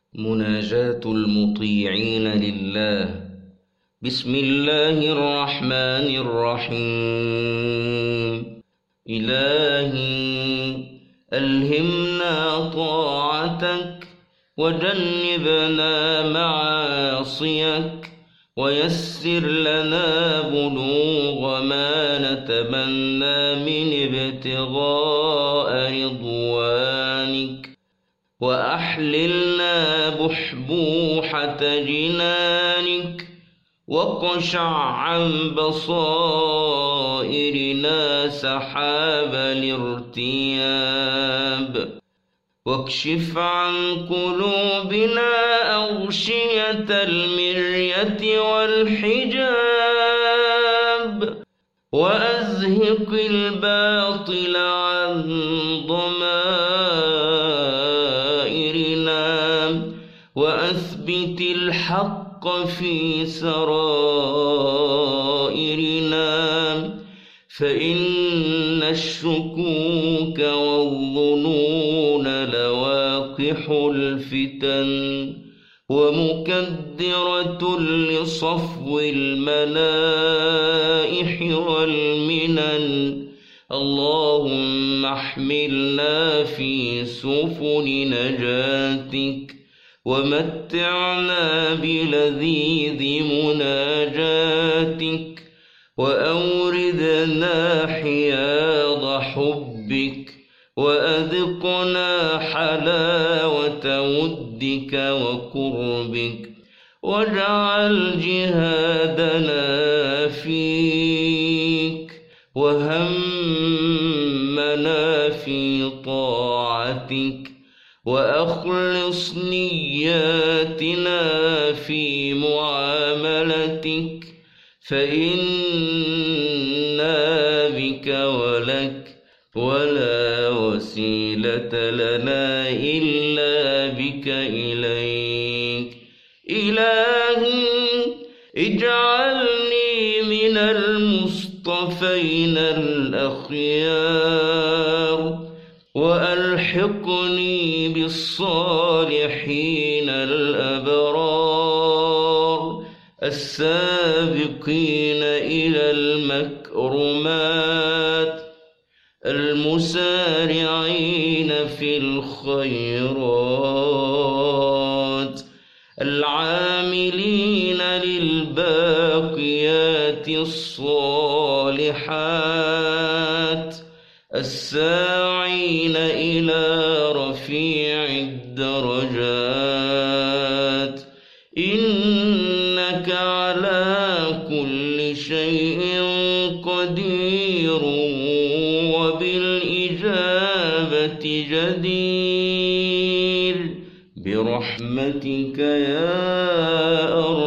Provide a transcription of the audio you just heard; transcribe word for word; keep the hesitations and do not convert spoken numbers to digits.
مناجاة المطيعين لله. بسم الله الرحمن الرحيم. إلهي ألهمنا طاعتك وجنبنا معاصيك، ويسر لنا بلوغ ما نتمنى من ابتغاء رضوانك، وأحللنا بحبوحة جنانك، وقشع بصائرنا سحاب الارتياب، واكشف عن قلوبنا أغشية المرية والحجاب، وأزهق الباطل عن ضمائرنا، وأثبت الحق في سرائرنا، فإن الشكوك والظنون لواقح الفتن، ومكدرة لصفو الملائح والمنن. اللهم احملنا في سفن نجاتك، ومتعنا بلذيذ مناجاتك، وأوردنا حياض حبك، وأذقنا حلاوة ودك وقربك، واجعل جهادنا فيك، وهمنا في طاعتك، وأخلص نياتنا في معاملتك، فإنا بك ولك، ولا وسيلة لنا إلا بك إليك. إلهي اجعلني من المصطفين الأخيار، وألحقني بالصالحين الأبرار، السابقين إلى المكرمات، المسارعين في الخيرات، العاملين للباقيات الصالحات، الساعين إلى رفيع الدرجات. إنك على كل شيء قدير، وبالإجابة جدير، برحمتك يا أرحم